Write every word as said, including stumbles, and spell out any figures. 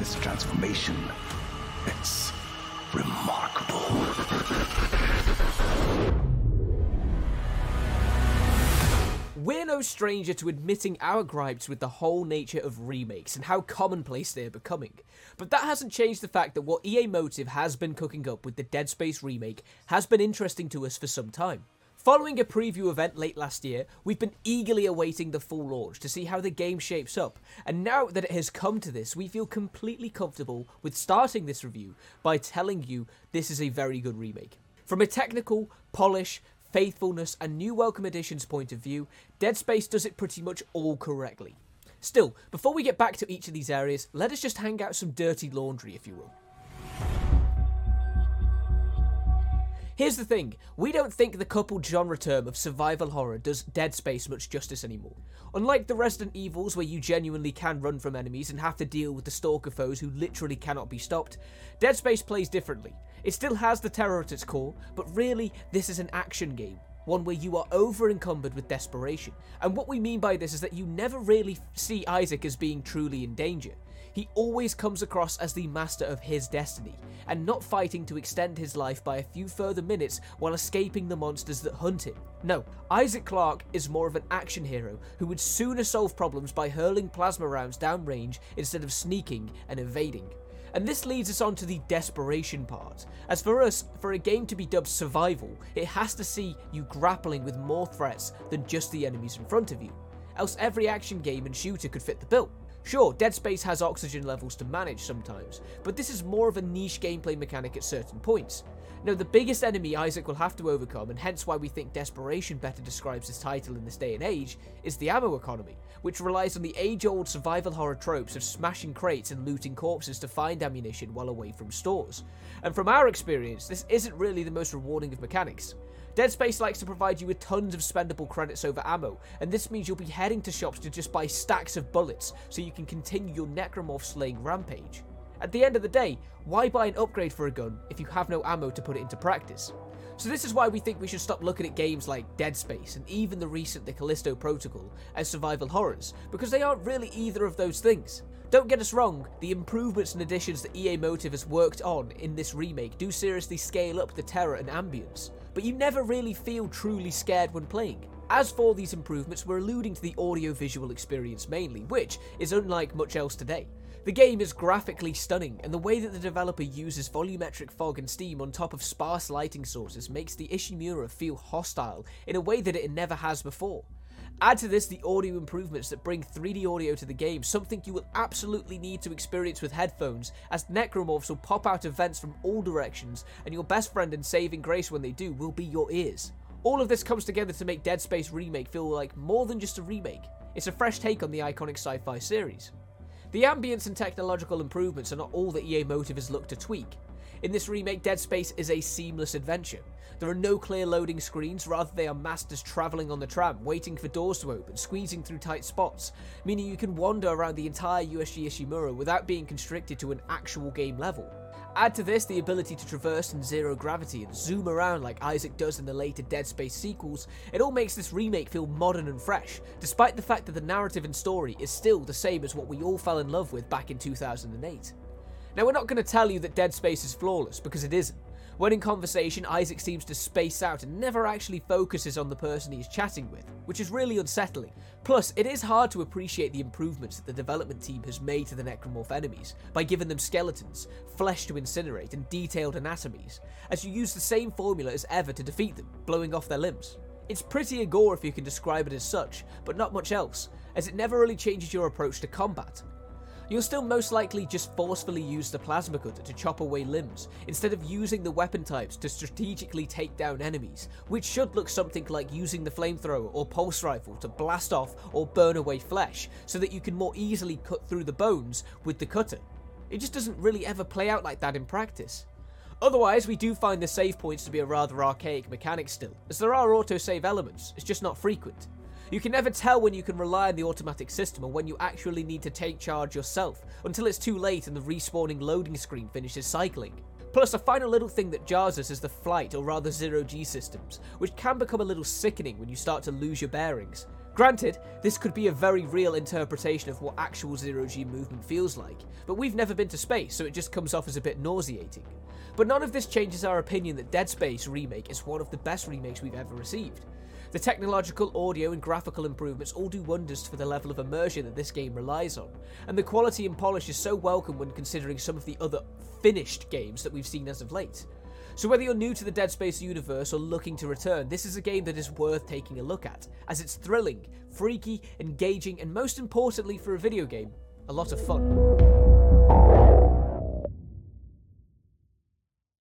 this transformation. It's remarkable. We're no stranger to admitting our gripes with the whole nature of remakes and how commonplace they're becoming, but that hasn't changed the fact that what E A Motive has been cooking up with the Dead Space remake has been interesting to us for some time. Following a preview event late last year, we've been eagerly awaiting the full launch to see how the game shapes up, and now that it has come to this, we feel completely comfortable with starting this review by telling you this is a very good remake. From a technical, polish, faithfulness and new welcome additions point of view, Dead Space does it pretty much all correctly. Still, before we get back to each of these areas, let us just hang out some dirty laundry, if you will. Here's the thing, we don't think the coupled genre term of survival horror does Dead Space much justice anymore. Unlike the Resident Evils where you genuinely can run from enemies and have to deal with the stalker foes who literally cannot be stopped, Dead Space plays differently. It still has the terror at its core, but really this is an action game, one where you are over encumbered with desperation. And what we mean by this is that you never really see Isaac as being truly in danger. He always comes across as the master of his destiny, and not fighting to extend his life by a few further minutes while escaping the monsters that hunt him. No, Isaac Clarke is more of an action hero who would sooner solve problems by hurling plasma rounds downrange instead of sneaking and evading. And this leads us on to the desperation part, as for us, for a game to be dubbed survival, it has to see you grappling with more threats than just the enemies in front of you, else every action game and shooter could fit the bill. Sure, Dead Space has oxygen levels to manage sometimes, but this is more of a niche gameplay mechanic at certain points. Now, the biggest enemy Isaac will have to overcome, and hence why we think Desperation better describes this title in this day and age, is the ammo economy, which relies on the age-old survival horror tropes of smashing crates and looting corpses to find ammunition while away from stores. And from our experience, this isn't really the most rewarding of mechanics. Dead Space likes to provide you with tons of spendable credits over ammo, and this means you'll be heading to shops to just buy stacks of bullets so you can continue your necromorph slaying rampage. At the end of the day, why buy an upgrade for a gun if you have no ammo to put it into practice? So this is why we think we should stop looking at games like Dead Space and even the recent The Callisto Protocol as survival horrors, because they aren't really either of those things. Don't get us wrong, the improvements and additions that E A Motive has worked on in this remake do seriously scale up the terror and ambience, but you never really feel truly scared when playing. As for these improvements, we're alluding to the audio-visual experience mainly, which is unlike much else today. The game is graphically stunning, and the way that the developer uses volumetric fog and steam on top of sparse lighting sources makes the Ishimura feel hostile in a way that it never has before. Add to this the audio improvements that bring three D audio to the game, something you will absolutely need to experience with headphones, as necromorphs will pop out of vents from all directions, and your best friend and saving grace when they do will be your ears. All of this comes together to make Dead Space Remake feel like more than just a remake. It's a fresh take on the iconic sci-fi series. The ambience and technological improvements are not all that E A Motive has looked to tweak. In this remake, Dead Space is a seamless adventure. There are no clear loading screens, rather they are masters travelling on the tram, waiting for doors to open, squeezing through tight spots, meaning you can wander around the entire U S G Ishimura without being constricted to an actual game level. Add to this the ability to traverse in zero gravity and zoom around like Isaac does in the later Dead Space sequels, it all makes this remake feel modern and fresh, despite the fact that the narrative and story is still the same as what we all fell in love with back in two thousand eight. Now, we're not going to tell you that Dead Space is flawless, because it isn't. When in conversation, Isaac seems to space out and never actually focuses on the person he's chatting with, which is really unsettling. Plus, it is hard to appreciate the improvements that the development team has made to the necromorph enemies, by giving them skeletons, flesh to incinerate, and detailed anatomies, as you use the same formula as ever to defeat them, blowing off their limbs. It's pretty a gore if you can describe it as such, but not much else, as it never really changes your approach to combat. You'll still most likely just forcefully use the plasma cutter to chop away limbs, instead of using the weapon types to strategically take down enemies, which should look something like using the flamethrower or pulse rifle to blast off or burn away flesh, so that you can more easily cut through the bones with the cutter. It just doesn't really ever play out like that in practice. Otherwise, we do find the save points to be a rather archaic mechanic still, as there are autosave elements, it's just not frequent. You can never tell when you can rely on the automatic system or when you actually need to take charge yourself, until it's too late and the respawning loading screen finishes cycling. Plus, a final little thing that jars us is the flight, or rather zero G systems, which can become a little sickening when you start to lose your bearings. Granted, this could be a very real interpretation of what actual zero-G movement feels like, but we've never been to space, so it just comes off as a bit nauseating. But none of this changes our opinion that Dead Space Remake is one of the best remakes we've ever received. The technological, audio, and graphical improvements all do wonders for the level of immersion that this game relies on, and the quality and polish is so welcome when considering some of the other finished games that we've seen as of late. So whether you're new to the Dead Space universe or looking to return, this is a game that is worth taking a look at, as it's thrilling, freaky, engaging, and most importantly for a video game, a lot of fun.